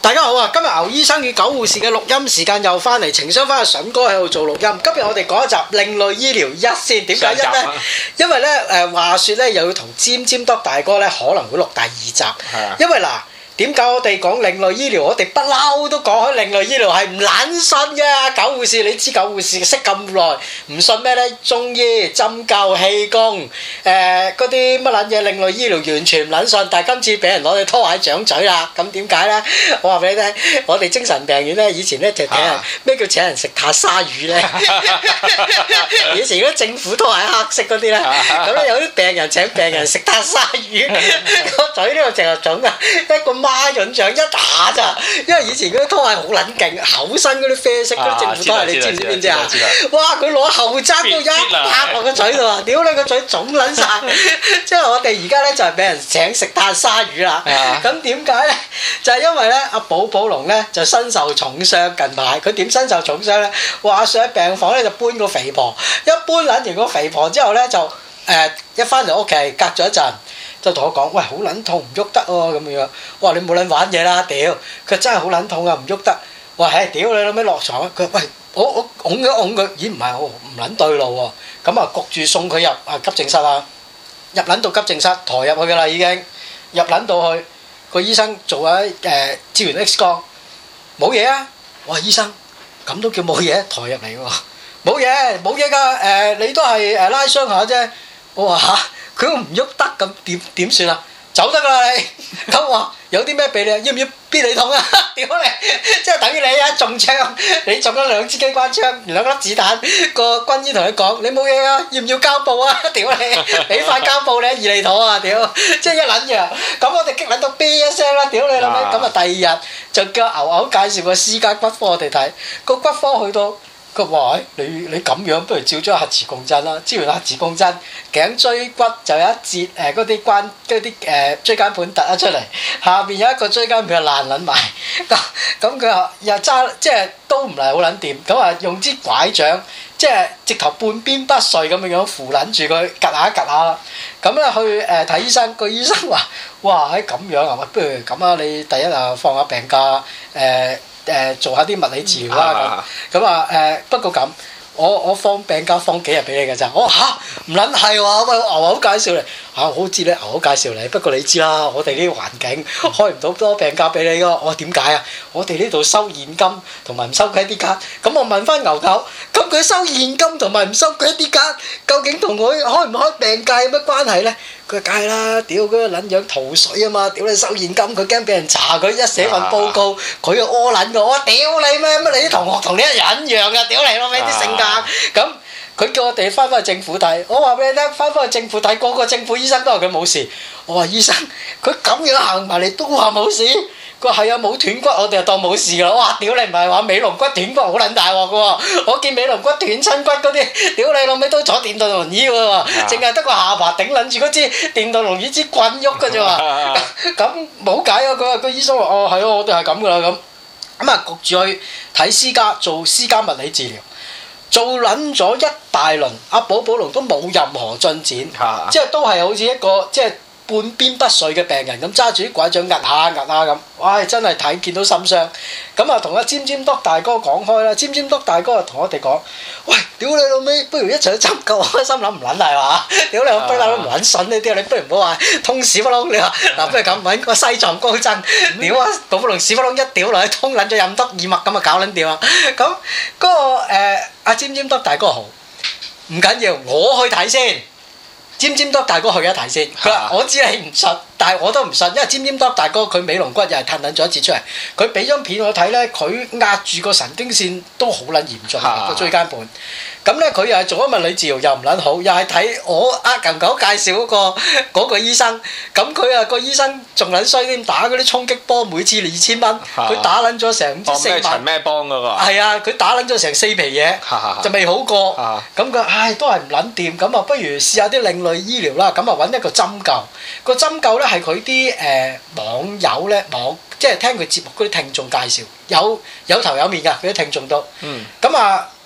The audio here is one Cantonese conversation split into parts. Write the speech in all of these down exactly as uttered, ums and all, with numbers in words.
大家好啊！今日牛醫生與狗護士嘅錄音時間又翻嚟，情商翻阿筍哥喺度做錄音。今日我哋講一集另類醫療一線，點解一呢？因為咧誒話説咧又要同尖尖多大哥咧可能會錄第二集，因為嗱。點解我哋講另類醫療？我哋不嬲都講開另類醫療係唔撚信嘅。狗護士，你知狗護士識咁耐，唔信咩咧？中醫、針灸、氣功，誒嗰啲乜撚嘢另類醫療完全唔撚信。但係今次俾人攞對拖鞋掌嘴啦，咁點解咧？我話俾你聽，我哋精神病院咧以前咧就請人咩叫請人食塔沙魚咧？以前嗰啲政府拖鞋黑色嗰啲咧，咁咧有啲病人請病人食塔沙魚，個嘴呢度成日腫啊，一個孖潤腸一打咋，因為以前嗰啲拖鞋好撚勁，厚身嗰啲啡色嗰啲政府拖鞋，你知唔知邊隻啊？哇！佢攞後踭都一拍落個嘴度啊！屌你個嘴腫撚晒！即係我哋而家咧就係俾人請食炭鯊魚啦。咁點解咧？就係因為咧阿寶寶龍咧就身受重傷，近排佢點身受重傷咧？話上喺病房咧就搬個肥婆，一搬撚完個肥婆之後咧就誒一翻嚟屋企隔咗一陣。就同我講：喂，好撚痛，唔喐得喎咁樣。我話你冇撚玩嘢啦，屌！佢真係好撚痛啊，唔喐得。我話：唉，屌你老味落床啊！佢話：喂，我我拱一拱佢，咦唔係我唔撚對路喎。咁啊焗住送佢入啊急症室啊，入撚到急症室，抬入去㗎啦已經。入撚到去，個醫生做下誒照完 X 光，冇嘢啊。我話醫生，咁都叫冇嘢？抬入嚟喎，冇嘢冇嘢㗎。誒你都係誒拉傷下啫。我話嚇。佢都唔喐得咁點點算啊？走得㗎啦你，咁我有啲咩俾你啊？要唔要必理痛啊？屌你！即係等於你一中槍，你中咗兩支機關槍，兩粒子彈，個軍醫同你講：你冇嘢啊？要唔要膠布啊？屌你！俾塊膠布你，二厘土啊！屌！即係一撚樣，咁我哋激撚到啤一聲啦！屌你老味！咁啊第二日就叫牛牛介紹個私家骨科我哋睇，個骨科去到。佢話：你你咁樣，不如照咗核磁共振啦。照完核磁共振，頸椎骨就有一節誒嗰啲關嗰啲誒椎間盤突咗出嚟，下邊有一個椎間盤就爛撚埋。咁咁佢話又揸即係都唔係好撚掂，咁啊用支拐杖，即係直頭半邊不遂咁樣樣扶撚住佢，趌下趌下啦。咁咧去誒睇醫生，個醫生話：哇，喺咁樣啊，不如咁啊，你第一啊放下病假誒。呃誒、呃、做下啲物理治療啦咁，咁啊誒不過咁，我我放病假放幾日俾你㗎咋？我嚇唔撚係喎，喂牛牛介紹你嚇，我好知你牛牛介紹你，不過你知啦，我哋呢個環境開唔到多病假俾你㗎。我話點解啊？我哋呢度收現金同埋唔收 credit card。咁我問翻牛牛，咁佢收現金同埋唔收 credit card，究竟同佢開唔開病假有乜關係咧？佢梗係啦，屌佢個撚樣逃水啊嘛！屌你收現金，佢驚俾人查佢，一寫份報告，佢又屙撚㗎。我屌你咩？乜你啲同學同你一人一樣㗎？屌你老味啲性格咁。佢叫我哋翻返去政府睇，我話俾你聽，翻返去政府睇，個個政府醫生都話佢冇事。我話醫生，佢咁樣行埋嚟都話冇事。佢話係啊，冇斷骨，我哋就當冇事㗎啦。哇！屌你唔係話尾龍骨斷骨好撚大鑊㗎喎，我見尾龍骨斷親骨嗰啲，屌你老味都坐電動輪椅㗎喎，淨係得個下巴頂撚住嗰支電動輪椅支棍喐㗎啫喎。咁冇計啊！佢話個醫生話：哦係啊，我哋係咁㗎啦咁。咁啊焗住去睇私家做私家物理治療。做撚咗一大輪，阿寶寶龍都冇任何進展，啊、即係都係好似一個即係半邊不遂嘅病人咁，揸住啲拐杖壓下壓下咁，哇！真係睇見到心傷。咁啊，同阿尖尖篤大哥講開啦，尖尖篤大哥啊同我哋講：喂，屌你老味，不如一齊去針灸。我心諗唔撚係嘛？屌你，我不嬲都唔撚信呢啲，你不如唔好話通屎窟窿。你話嗱，不如咁揾個西藏高僧，屌啊！寶寶龍屎窟窿一屌落去，通撚咗任督二脈咁啊，搞撚掂啊！咁嗰、那個誒。呃阿尖尖篤大哥好，唔緊要，我去睇先。尖尖篤大哥去一睇先，佢話我知你唔信，但係我都唔信，因為尖尖篤大哥佢尾龍骨又係褪撚咗一截出嚟，佢俾張片我睇咧，佢壓住個神經線都好撚嚴重個椎間盤。咁咧佢又係做咗物理治療又唔撚好，又係睇我阿牛狗介紹嗰個嗰個醫生，咁佢啊個醫生仲撚衰添，打嗰啲衝擊波每次二千蚊，佢打撚咗成唔知四萬。哦，咩陳咩幫嗰個？係啊，佢打撚咗成四皮嘢，就未好過。咁佢唉都係唔撚掂，咁啊不如試下啲另類醫療啦，咁啊揾一個針灸。個針灸咧係佢啲誒網友咧網，即係聽佢節目嗰啲聽眾介紹，有有頭有面㗎，佢啲聽眾都。嗯。咁啊。一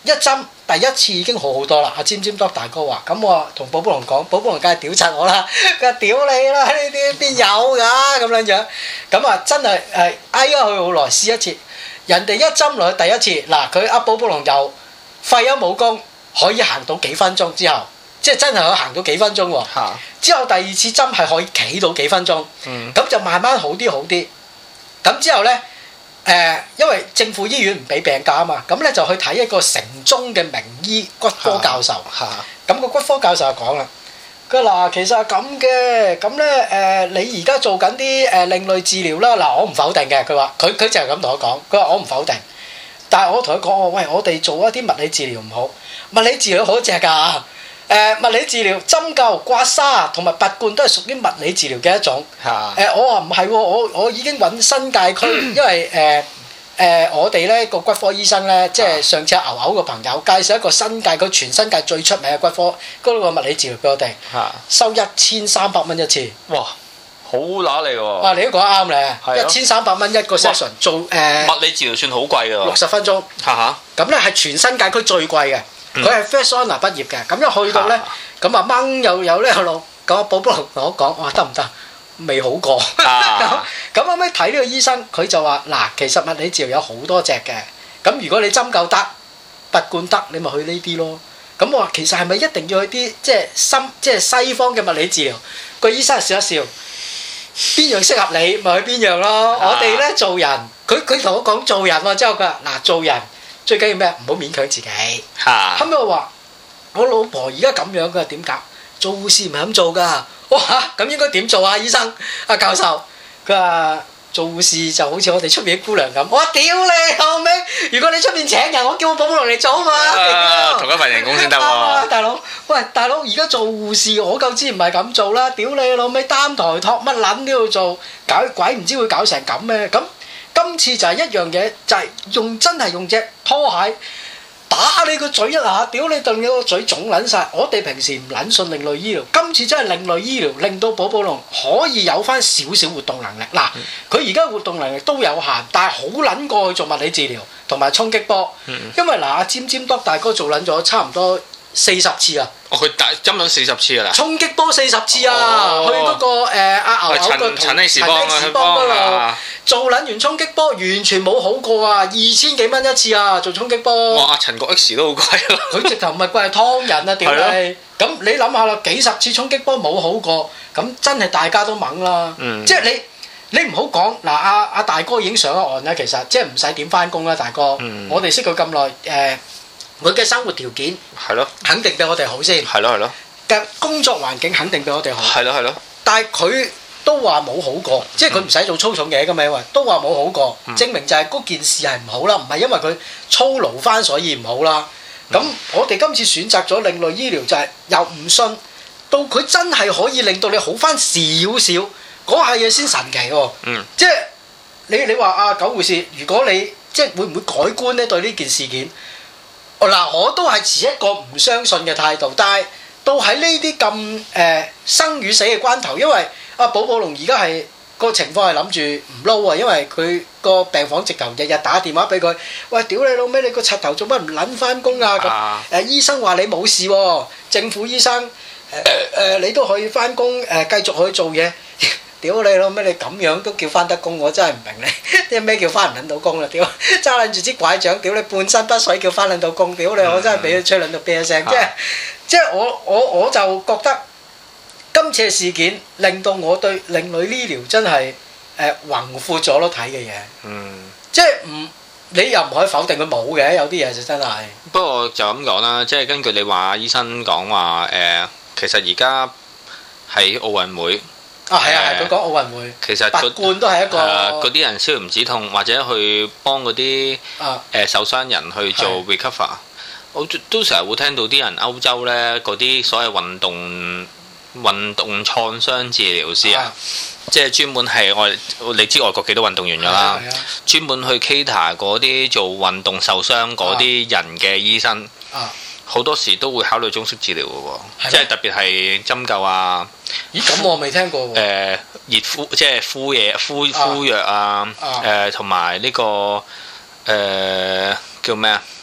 一針第一次已經好好多啦。阿尖尖多大哥話：咁我同寶寶龍講，寶寶龍梗係屌柒我啦。佢話：屌你啦，呢啲邊有㗎咁樣樣。咁啊真係誒挨咗佢好耐，試一次。人哋一針落去第一次，嗱佢阿寶寶龍又廢咗武功，可以行到幾分鐘之後，即係真係可以行到幾分鐘喎。之後第二次針係可以企到幾分鐘，咁、嗯、就慢慢好啲好啲。咁之後呢，誒、呃，因為政府醫院唔俾病假啊嘛，咁呢就去睇一個城中嘅名醫骨科教授。咁個骨科教授就講啦，佢話嗱，其實係咁嘅，咁呢，誒、呃，你而家做緊啲誒另類治療啦。嗱，我唔否定嘅，佢話佢佢就係咁同我講，佢話我唔否定，但係我同佢講我喂，我哋做一啲物理治療唔好，物理治療好正㗎。誒、呃、物理治療針灸、刮痧同埋拔罐都係屬於物理治療嘅一種。誒、呃、我話唔係喎，我我已經揾新界區，因為誒誒、呃呃、我哋咧個骨科醫生咧，即係上次牛牛個朋友介紹一個新界區全新界最出名嘅骨科嗰個物理治療俾我哋，收一千三百蚊一次。哇！好揦你喎！哇！你都講得啱咧，一千三百蚊一個 session 做誒、呃、 物理治療算好貴㗎喎， 六十分鐘。嚇嚇！咁咧係全新界區最貴嘅。佢係 First Honour 畢業嘅，咁一去到咧，咁啊掹又有呢個路，咁阿寶寶同我講，我話得唔得？未好過。咁咁後尾睇呢個醫生，佢就話：嗱，其實物理治療有好多隻嘅，咁如果你針灸得、拔罐得，你咪去呢啲咯。咁我話其實係咪一定要去啲即係深即係西方嘅物理治療？個醫生笑一笑，邊樣適合你咪去邊樣咯。我哋咧做人，佢佢同我講做人喎，之後佢話嗱做人。最緊要咩？唔好勉強自己。嚇！後尾我話：我老婆而家咁樣，佢話點搞？做護士唔係咁做㗎。哇！咁應該點做啊？醫生、阿教授，佢話做護士就好似我哋出面啲姑娘咁。我話屌你後尾！如果你出面請人，我叫我寶寶龍嚟做啊嘛。 啊同一份人工先得喎。 大佬，喂，大佬，而家做護士，我夠知唔係咁做啦。屌你老味，擔抬托乜撚都要做，搞鬼唔知會搞成咁咩？咁。今次就係一樣嘢，就係、是、用真係用隻拖鞋打你個嘴一下，屌你頓你個嘴腫撚晒。我哋平時唔撚信另類醫療，今次真係另類醫療，令到寶寶龍可以有翻少少活動能力。嗱，佢而家活動能力都有限，但係好撚過去做物理治療同埋衝擊波，因為嗱阿尖尖多大哥做撚咗差唔多四十次啊！ 哦，佢打針咗四十次㗎啦！ 衝擊波四十次啊！哦、去嗰、那個誒阿、呃、牛牛個陳陳力士幫嗰度做撚完衝擊波，完全冇好過啊！二千幾蚊一次啊！做衝擊波。哇！陳國 X 都好貴咯。佢直頭唔係貴係劏人啊！屌你！咁你諗下啦，幾十次衝擊波冇好過，咁真係大家都猛啦。嗯、即係你你唔好講嗱，阿阿大哥已經上咗岸啦，其實即係唔使點翻工啦，大哥。嗯、我哋識佢咁耐誒。呃佢嘅生活條件係咯，肯定比我哋好先。係咯係咯。嘅工作環境肯定比我哋好。係咯係咯。但係佢都話冇好過，即係佢唔使做粗重嘢㗎嘛，因為都話冇好過，嗯、證明就係嗰件事係唔好啦，唔係因為佢操勞翻所以唔好啦。咁、嗯、我哋今次選擇咗另類醫療，就係又唔信，到佢真係可以令到你好翻少少，嗰下嘢先神奇喎。嗯。即係你你話啊狗護士，如果你即係會唔會改觀咧對呢件事件？嗱，我都係持一個唔相信嘅態度，但係到喺呢啲咁誒生與死嘅關頭，因為阿寶寶龍而家係個情況係諗住唔撈啊，因為佢個病房直頭日日打電話俾佢，喂，屌你老味，你個柒頭做乜唔撚翻工啊？咁誒、啊呃、醫生話你冇事喎，政府醫生誒誒、呃呃、你都可以翻工誒繼續去做嘢。屌你老味，你咁樣都叫翻得工，我真係唔明你啲咩叫翻唔撚到工啦！屌揸撚住支拐杖，屌你半身不遂叫翻撚到工，屌你我真係俾佢吹撚到啤一聲，即係即係我我我就覺得今次嘅事件令到我對另類醫療真係誒宏闊咗咯睇嘅嘢，嗯，即係唔你又唔可以否定佢冇嘅，有啲嘢就真係。 不過就咁講啦，即係根據你話醫生講話誒，其實而家喺奧運會。 啊，係啊，係佢講奧運會， 其實拔罐都係一個嗰啲、呃、人消唔止痛，或者去幫嗰啲誒受傷人去做 recover。我都成日會聽到啲人歐洲呢嗰啲所謂運動運動創傷治療師啊，即係專門係外你知外國幾多運動員㗎啦，專門去 cater 嗰啲做運動受傷嗰啲人嘅醫生。啊好多時都會考慮中式治療嘅喎，即係特別係針灸啊。 咦？咁我未聽過喎。 誒熱敷即係敷嘢、敷敷藥啊。誒同埋呢個誒叫咩啊？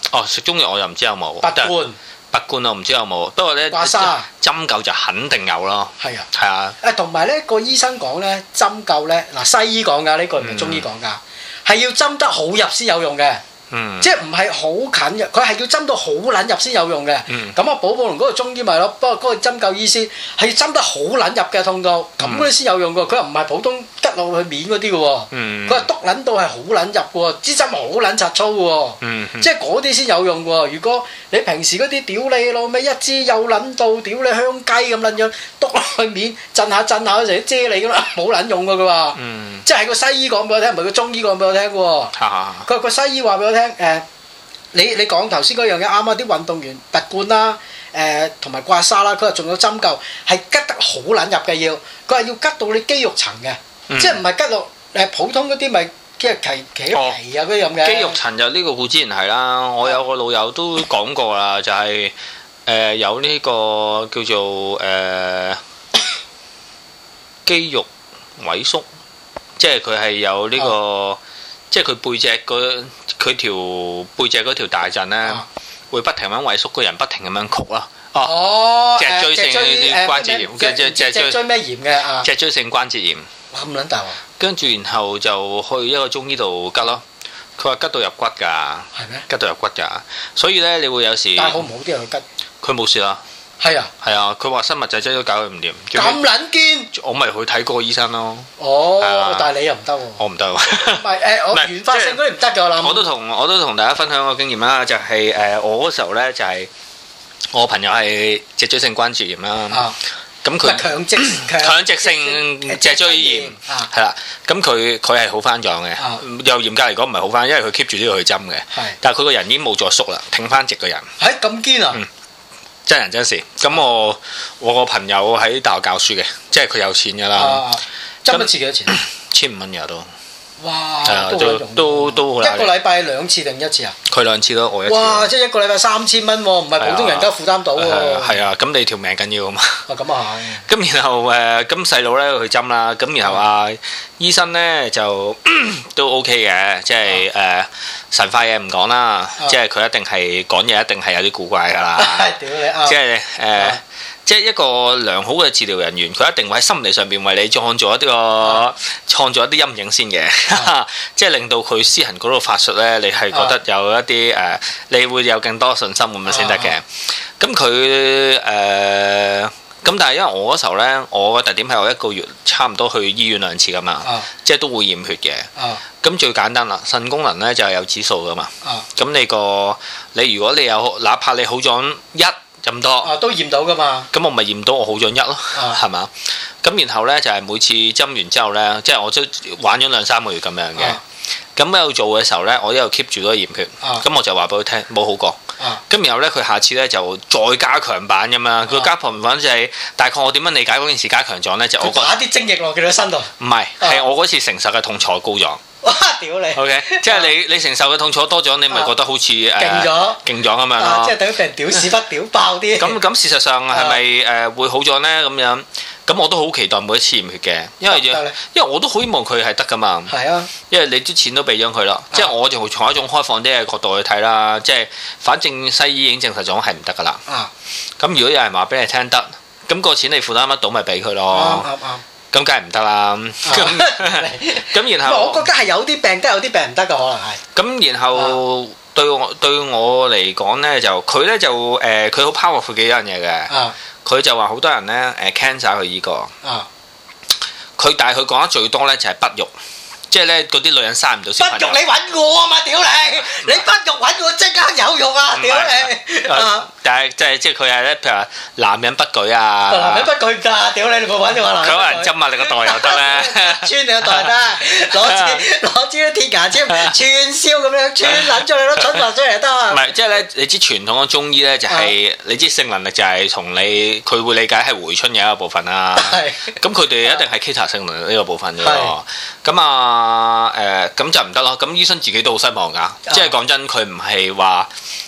哦，食中藥我又唔知有冇。 拔罐。 拔罐我唔知有冇，不過咧刮痧針灸就肯定有咯。 係啊。 係啊。 誒同埋咧個醫生講咧針灸咧嗱西醫講㗎，呢個唔係中醫講㗎，係要針得好入先有用嘅。嗯、即係唔係好近嘅，佢係要針到好撚入先有用嘅。咁啊、嗯，寶寶龍嗰個中醫咪咯，不過嗰個針灸醫師係要針得好撚入嘅痛到，咁嗰啲先有用嘅。佢又唔係普通吉落去面嗰啲嘅喎，佢係篤撚到係好撚入嘅喎，支針好撚柒粗嘅喎，嗯嗯、即係嗰啲先有用嘅喎。如果你平時嗰啲屌你老味一支又撚到屌你香雞咁撚樣篤落去面震下震下嗰時啫喱咁啦，冇撚用嘅佢話，嗯、即係個西醫講俾我聽，唔係個中醫講俾我聽嘅喎。佢話個西醫話俾我聽。聽誒，你你講頭先嗰樣嘢啱啊！啲運動員拔罐啦，誒同埋刮痧啦，佢話仲有針灸，係吉得好撚入嘅要，佢話要吉到你肌肉層嘅，嗯、即係唔係吉落誒普通嗰啲咪即係皮皮啊嗰啲咁嘅。肌肉層就呢個固之然係啦，我有個老友都講過啦，就係、是、誒、呃、有呢個叫做誒、呃、肌肉萎縮，即係佢係有呢、這個。哦即係佢背脊嗰佢條背脊嗰條大陣咧，啊、會不停咁萎縮，個人不停咁樣曲咯。哦，脊椎性關節炎，嘅脊脊脊椎咩炎嘅啊？ 脊椎性關節炎。 哇咁撚大喎！ 跟住然後就去一個中醫度吉咯。佢話吉到入骨㗎。係咩？吉到入骨㗎，所以咧你會有時。 但係好唔好啲人去吉？佢冇事啦。係啊，係啊，佢話生物製劑都搞佢唔掂。 咁撚堅？ 我咪去睇過醫生咯。 哦，但係你又唔得喎。 我唔得喎。 唔係誒，我原發性嗰啲唔得㗎，我諗。我都同我都同大家分享個經驗啦，就係誒我嗰時候咧就係我朋友係脊椎性關節炎啦。啊。咁佢強直強直性脊椎炎係啦，咁佢佢係好翻咗嘅，又嚴格嚟講唔係好翻，因為佢 keep 住都要去針嘅。係。但係佢個人已經冇再縮啦，挺翻直個人。 係咁堅啊！ 真人真事，咁我我個朋友喺大學教書嘅，即係佢有錢㗎啦。 針一次幾多錢？ 千五蚊日都。 哇！ 都都都好難。 一個禮拜兩次定一次啊？ 佢兩次咯，我一次。 哇！即係一個禮拜三千蚊喎，唔係普通人家負擔到喎。 係啊，咁你條命緊要啊嘛。 啊，咁啊係。咁然後誒，咁細佬咧去針啦，咁然後啊醫生咧就都 OK 嘅，即係誒神化嘢唔講啦，即係佢一定係講嘢一定係有啲古怪㗎啦。屌你啊！即係誒。即係一個良好嘅治療人員，佢一定會喺心理上邊為你創造一啲個創造一啲陰影先嘅，即係令到佢施行嗰度法術咧，你係覺得有一啲誒、呃，你會有更多信心咁樣先得嘅。咁佢誒咁，但係因為我嗰時候咧，我嘅特點係我一個月差唔多去醫院兩次噶嘛，啊、即係都會驗血嘅。咁、啊、最簡單啦，腎功能咧就係有指數噶嘛。咁、啊、你個你如果你有，哪怕你好咗一。咁多啊，都驗到噶嘛？ 咁我咪驗到我好咗一咯，係嘛、啊？咁然後咧就係、是、每次針完之後咧，即係我都玩咗兩三個月咁樣嘅。咁喺度做嘅時候咧，我一路 keep 住都驗血。咁、啊、我就話俾佢聽冇好過。咁、啊、然後咧，佢下次咧就再加強版咁樣。佢、啊、加強版就係大概我點樣理解嗰件事加強咗咧？就我打啲精液落佢個身度。唔係，係我嗰次承受嘅痛楚高咗。 哇！屌你 ，OK，即係你你承受嘅痛楚多咗，你咪覺得好似誒勁咗， 勁咗咁樣咯。 即係等於俾人屌屎忽屌爆啲。 咁咁事實上係咪誒會好咗咧？咁樣咁我都好期待每一次驗血嘅，因為因為我都好希望佢係得噶嘛。係啊，因為你啲錢都俾咗佢啦，即係我就從一種開放啲嘅角度去睇啦。即係反正西醫已經證實咗係唔得噶啦。咁如果有人話俾你聽得，咁個錢你負擔得到咪俾佢咯。啱啱。咁梗係唔得啦，咁然後我覺得係有啲病得，有啲病唔得㗎，可能係。 咁然後對我對我嚟講咧，就佢咧就誒，佢好 powerful 幾樣嘢嘅。佢就話好多人咧誒 cancer 佢依個。佢但係佢講得最多咧就係不育。即係咧，嗰啲女人生唔到小朋友。不育你揾我啊嘛！屌你，你不育揾我即刻有肉啊！屌你。但係即係即係佢係咧，譬如話男人不舉啊。 男人不舉㗎！屌你，你冇揾我男人。 佢可能針下你個袋又得咧。 穿你個袋得，攞支攞支鐵牙籤串燒咁樣穿撚咗你咯，蠢話出嚟得啊！ 唔係，即係咧，你知傳統嘅中醫咧就係你知性能力就係從你佢會理解係回春嘅一個部分啦。係。咁佢哋一定係 cater 性能力呢個部分嘅喎。咁啊誒咁就唔得咯。咁醫生自己都好失望㗎。即係講真，佢唔係話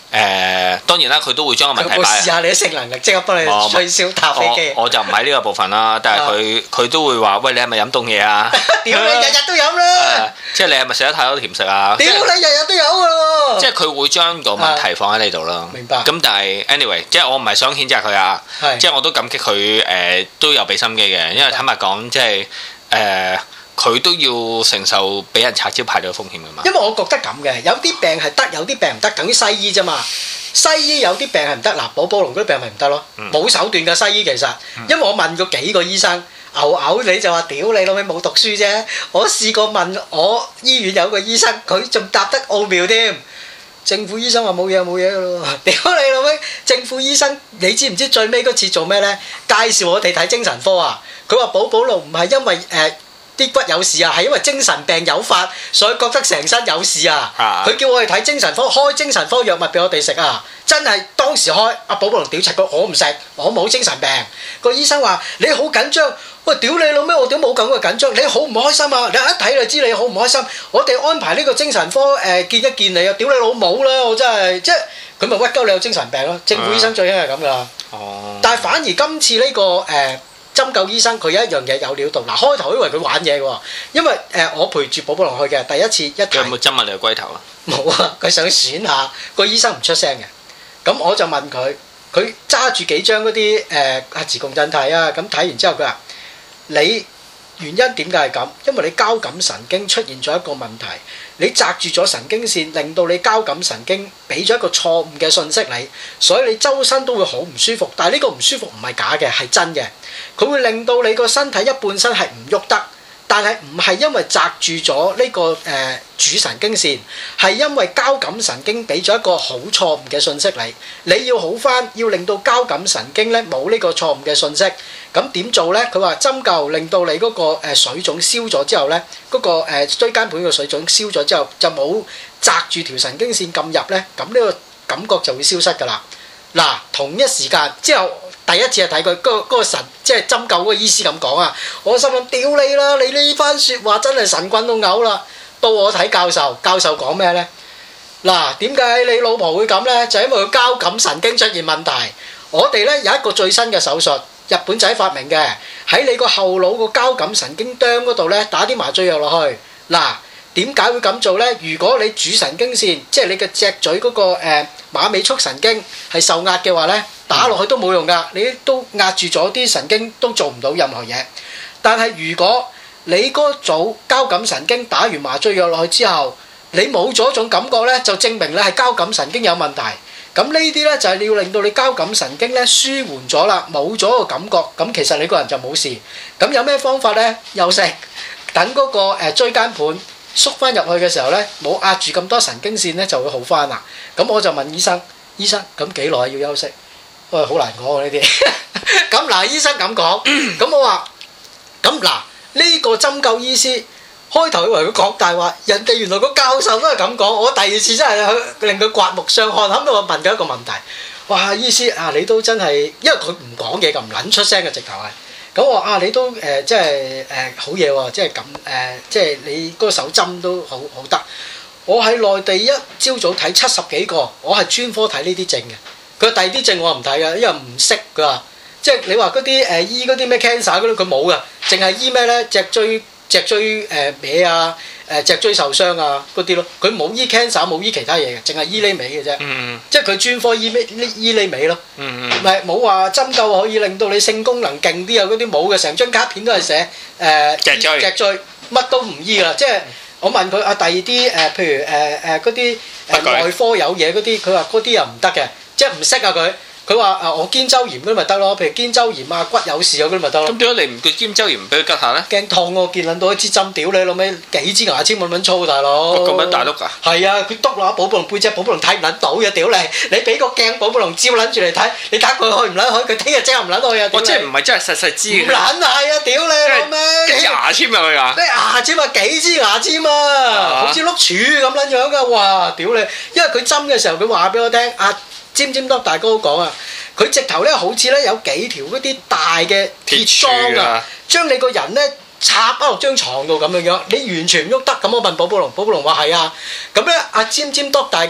誒當然啦，佢都會將個問題擺。 有冇試下你啲性能力即刻幫你吹簫搭飛機？ 我就唔喺呢個部分啦，但係佢佢都會話：喂，你係咪飲凍嘢啊？ 屌你日日都飲啦！ 即係你係咪食得太多甜食啊？ 屌你日日都有㗎喎！ 即係佢會將個問題放喺你度咯。明白。咁但係 anyway，即係我唔係想譴責佢啊，即係我都感激佢誒都有俾心機嘅，因為坦白講，即係誒。佢都要承受俾人拆招牌嘅風險㗎嘛？因為我覺得咁嘅，有啲病係得，有啲病唔得，等於西醫啫嘛。西醫有啲病係唔得，嗱，寶寶龍嗰啲病咪唔得咯，冇、嗯、手段嘅西醫其實。因為我問過幾個醫生，牛牛你就話屌你老味冇讀書啫。我試過問我醫院有個醫生，佢仲答得奧妙添。政府醫生話冇嘢冇嘢㗎咯，屌你老味！政府醫生你知唔知最尾嗰次做咩呢？介紹我哋睇精神科啊！佢話寶寶龍唔係因為誒。呃啲骨有事啊，係因為精神病誘發，所以覺得成身有事啊。佢叫我哋睇精神科，開精神科藥物俾我哋食啊。真係當時開，阿寶寶龍屌柒佢，我唔食，我冇精神病。個醫生話你好緊張，喂屌你老咩？我屌冇咁嘅緊張，你好唔開心啊？你一睇就知你好唔開心。我哋安排呢個精神科誒、呃、見一見你啊！屌你老母啦！我真係即係佢咪屈鳩你有精神病咯？政府醫生最興係咁噶。哦。但係反而今次呢、呢個誒。呃針灸醫生佢有一樣嘢有料到，嗱開頭以為佢玩嘢喎，因為誒、呃、我陪住寶寶龍去嘅第一次一睇，有冇針啊你個龜頭啊？冇啊，佢想選下，個醫生唔出聲嘅，咁我就問佢，佢揸住幾張嗰啲誒核磁共振體啊，咁睇完之後佢話：你原因點解係咁？因為你交感神經出現咗一個問題，你擲住咗神經線，令到你交感神經俾咗一個錯誤嘅信息你，所以你周身都會好唔舒服。但係呢個唔舒服唔係假嘅，係真嘅。佢會令到你個身體一半身係唔喐得，但係唔係因為擲住咗呢個誒、呃、主神經線，係因為交感神經俾咗一個好錯誤嘅信息你。你要好返，要令到交感神經咧冇呢個錯誤嘅信息。咁點做咧？佢話針灸令到你嗰個誒水腫消咗之後咧，嗰、嗰個誒椎間盤嘅水腫消咗之後，就冇擲住條神經線咁入咧，咁呢個感覺就會消失㗎啦。嗱，同一時間之後。第一次係睇佢嗰嗰個神，即係針灸嗰個醫師咁講啊！我心諗屌你啦，你呢番説話真係神棍到嘔啦！到我睇教授，教授講咩呢？嗱，點解你老婆會咁呢？就係因為佢交感神經出現問題。我哋呢有一個最新嘅手術，日本仔發明嘅，喺你個後腦個交感神經哚嗰度呢打啲麻醉藥落去。嗱，點解會咁做呢？如果你主神經線，即係你嘅脊椎嗰個誒馬尾束神經係受壓嘅話呢。打落去都冇用㗎，你都壓住咗啲神經，都做唔到任何嘢。但係如果你嗰組交感神經打完麻醉藥落去之後，你冇咗種感覺呢，就證明你係交感神經有問題。咁呢啲呢，就係你要令到你交感神經呢舒緩咗啦，冇咗個感覺，咁其實你個人就冇事。咁有咩方法呢？休息，等嗰個誒椎間盤縮翻入去嘅時候呢，冇壓住咁多神經線呢，就會好翻啦。咁我就問醫生：醫生咁幾耐要休息？喂，好難講喎呢啲。咁嗱，醫生咁講，咁我話，咁嗱呢個針灸醫師開頭以為佢講大話，人哋原來個教授都係咁講。我第二次真係去令佢刮目相看。後尾我問佢一個問題，哇，醫師啊，你都真係，因為佢唔講嘢，咁唔撚出聲嘅直頭係。咁我話啊，你都誒即係誒好嘢喎，即係咁誒，即係你嗰個手針都好好得。我喺內地一朝早睇七十幾個，我係專科睇呢啲症嘅。佢第二啲症我唔睇嘅，因為唔識佢話，即係你話嗰啲誒醫嗰啲咩 cancer 嗰啲，佢冇嘅，淨係醫咩咧？脊椎脊椎誒歪啊，誒脊椎受傷啊嗰啲咯，佢冇醫 cancer，冇醫其他嘢嘅，淨係醫呢味嘅啫。嗯、即係佢專科醫咩？醫呢味咯。唔係冇話針灸可以令到你性功能勁啲啊！嗰啲冇嘅，成張卡片都係寫誒、呃、脊椎脊椎，乜都唔醫㗎。即係我問佢啊，第二啲誒，譬如誒誒嗰啲誒內科有嘢嗰啲，佢話嗰啲又唔得嘅。即係唔識啊佢，佢話啊我肩周炎嗰啲咪得咯，譬如肩周炎啊骨有事嗰啲咪得咯。咁點解你唔叫肩周炎唔俾佢吉下咧？驚痛喎，見撚到一支針屌你老味，幾支牙籤咁撚粗大佬。咁撚大碌㗎？係啊，佢篤落寶寶龍背脊，寶寶龍睇唔撚到嘅屌你！你俾個鏡寶寶龍照撚住嚟睇，你睇佢去唔撚去？佢聽日即刻唔撚去啊！我即係唔係真係實實知嘅。唔撚係啊！屌你老味！幾牙籤入去㗎？啲牙籤啊，幾支牙籤啊，好似碌柱咁撚樣㗎！哇！屌你，因為佢針嘅時候佢話俾我聽啊。尖尖多大哥講啊，佢直頭咧好似咧有幾條嗰啲大嘅鐵樁啊，將你個人咧插翻落張床度咁樣樣，你完全唔喐得。咁我問寶寶龍，寶寶龍話係啊。咁咧阿尖尖多大哥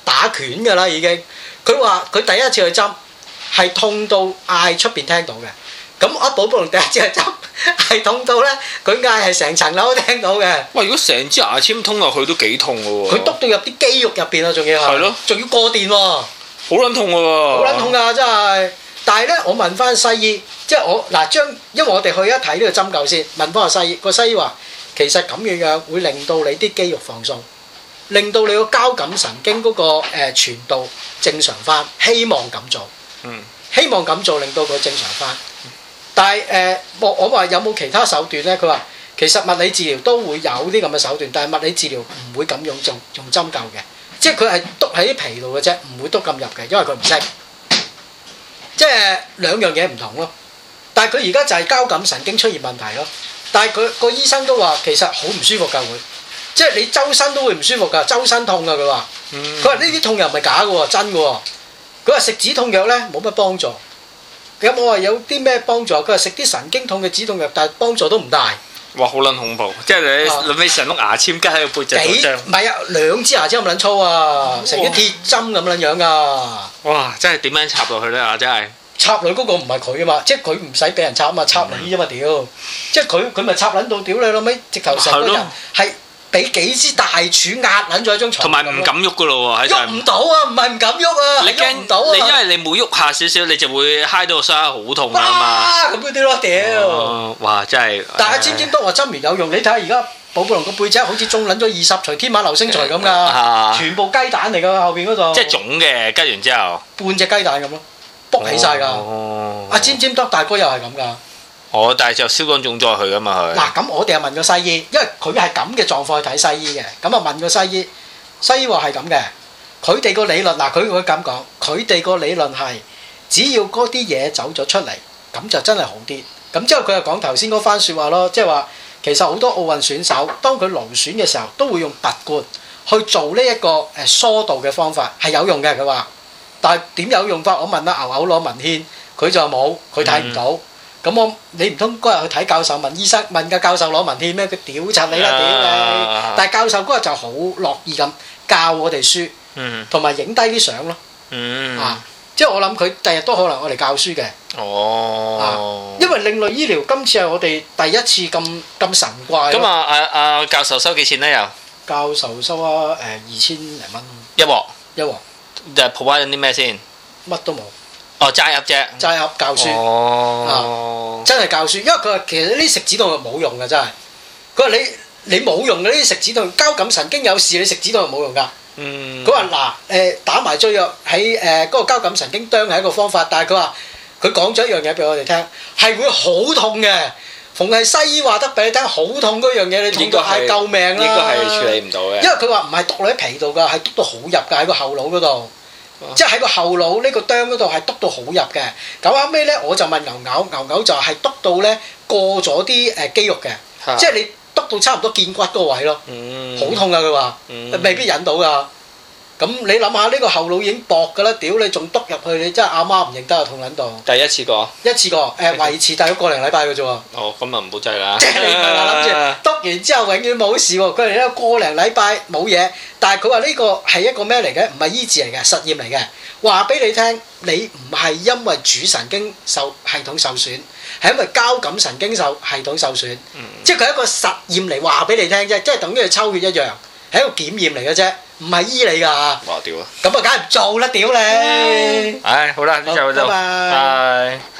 打拳㗎啦已經。佢話佢第一次去針係痛到嗌出邊聽到嘅。咁阿寶寶龍第一次去針係痛到咧，佢嗌係成層樓都聽到嘅。 喂，如果成支牙籤通落去都幾痛㗎喎！ 佢篤到入啲肌肉入邊啊，仲要係。係咯。仲要過電喎。好撚痛㗎喎！ 好撚痛㗎，真係。但係咧，我問翻西醫，即係我嗱將，因為我哋去一睇呢個針灸先，問翻個西醫，個西醫話其實咁樣樣會令到你啲肌肉放鬆，令到你個交感神經嗰個誒傳導正常翻，希望咁做。嗯。希望咁做令到佢正常翻。但係誒，我我話有冇其他手段咧？佢話其實物理治療都會有啲咁嘅手段，但係物理治療唔會咁用用用針灸嘅，即係佢係篤喺啲皮度嘅啫，唔會篤咁入嘅，因為佢唔識。即係兩樣嘢唔同咯。但係佢而家就係交感神經出現問題咯。但係佢個醫生都話其實好唔舒服㗎會，即係你周身都會唔舒服㗎，周身痛㗎佢話。佢話呢啲痛又唔係假嘅喎，真嘅喎。佢話食止痛藥咧冇乜幫助。咁我話有啲咩幫助？佢話食啲神經痛嘅止痛藥，但係幫助都唔大。 哇！好撚恐怖，即係你諗起成碌牙籤加喺個背脊度張。 唔係啊，兩支牙籤咁撚粗啊，成啲鐵針咁撚樣㗎。 哇！真係點樣插落去咧啊！真係。 插女嗰個唔係佢啊嘛，即係佢唔使俾人插啊嘛，插你啫嘛屌！即係佢佢咪插撚到屌你老味，直頭成個人係俾幾支大柱壓撚咗喺張牀。同埋唔敢喐噶咯喎， 喐唔到啊！唔係唔敢喐啊， 你驚唔到啊！你因為你每喐下少少，你就會揩到個傷好痛啊嘛。咁嗰啲咯屌！ 哇！真係。 但係尖尖都話針完有用，你睇下而家寶寶龍個背脊好似中撚咗二十錘天馬流星錘咁㗎，全部雞蛋嚟㗎後邊嗰度。 即係腫嘅，吉完之後。 半隻雞蛋咁咯。卜起晒㗎，阿尖尖多大哥又係咁㗎。 哦，但係就消乾腫再去㗎嘛佢。 嗱咁我哋又問個西醫，因為佢係咁嘅狀況去睇西醫嘅，咁啊問個西醫，西醫話係咁嘅，佢哋個理論嗱佢會咁講，佢哋個理論係只要嗰啲嘢走咗出嚟，咁就真係好啲。咁之後佢又講頭先嗰番説話咯，即係話其實好多奧運選手當佢勞損嘅時候，都會用拔罐去做呢一個誒疏導嘅方法係有用嘅，佢話。但係點有用法？我問阿牛牛攞文獻，佢就冇，佢睇唔到。咁、嗯、我你唔通嗰日去睇教授問醫生問個教授攞文獻咩？佢屌柒你啦屌你！啊、但係教授嗰日就好樂意咁教我哋書，同埋影低啲相咯。嗯、啊，即係我諗佢第日都可能我哋教書嘅。哦、啊，因為另類醫療今次係我哋第一次咁咁神怪。 咁啊啊啊！教授收幾錢咧？又教授收啊誒二千零蚊一鑊一鑊。 就係 provide 緊啲咩先？ 乜都冇。 哦，齋盒啫。 齋盒教書。哦。啊、真係教書，因為佢話其實呢啲食止痛藥冇用㗎，真係。佢話你你冇用嘅呢啲食止痛藥，交感神經有事，你食止痛藥冇用㗎。嗯。佢話嗱誒打麻醉藥喺誒嗰個交感神經啄係一個方法，但係佢話佢講咗一樣嘢俾我哋聽，係會好痛嘅。逢係西醫話得俾你聽，好痛嗰樣嘢，你痛到嗌救命啦！ 應該係處理唔到嘅。 因為佢話唔係篤落喺皮度㗎，係篤到好入㗎喺個後腦嗰度，啊、即係喺個後腦呢個啄嗰度係篤到好入嘅。咁後尾咧，我就問牛牛，牛牛就係篤到咧過咗啲誒肌肉嘅，啊、即係你篤到差唔多見骨嗰個位咯，好、嗯、痛㗎佢話，嗯、未必引到㗎。咁你諗下呢個後腦已經薄㗎啦，屌你仲篤入去，你真係阿媽唔認得啊，痛撚到。 第一次過。 一次過，誒、呃、維持大約個零禮拜嘅啫喎。 哦，咁啊唔好制啦。 即係你唔係話諗住篤完之後永遠冇事喎，佢哋咧個零禮拜冇嘢，但係佢話呢個係一個咩嚟嘅？唔係醫治嚟嘅，實驗嚟嘅。話俾你聽，你唔係因為主神經受系統受損，係因為交感神經受系統受損。嗯、即係佢係一個實驗嚟話俾你聽啫，即係等於抽血一樣，係一個檢驗嚟嘅啫。唔係醫你㗎，哇屌啊！咁啊，梗係唔做啦，屌你！唉，好啦，呢就就，拜拜。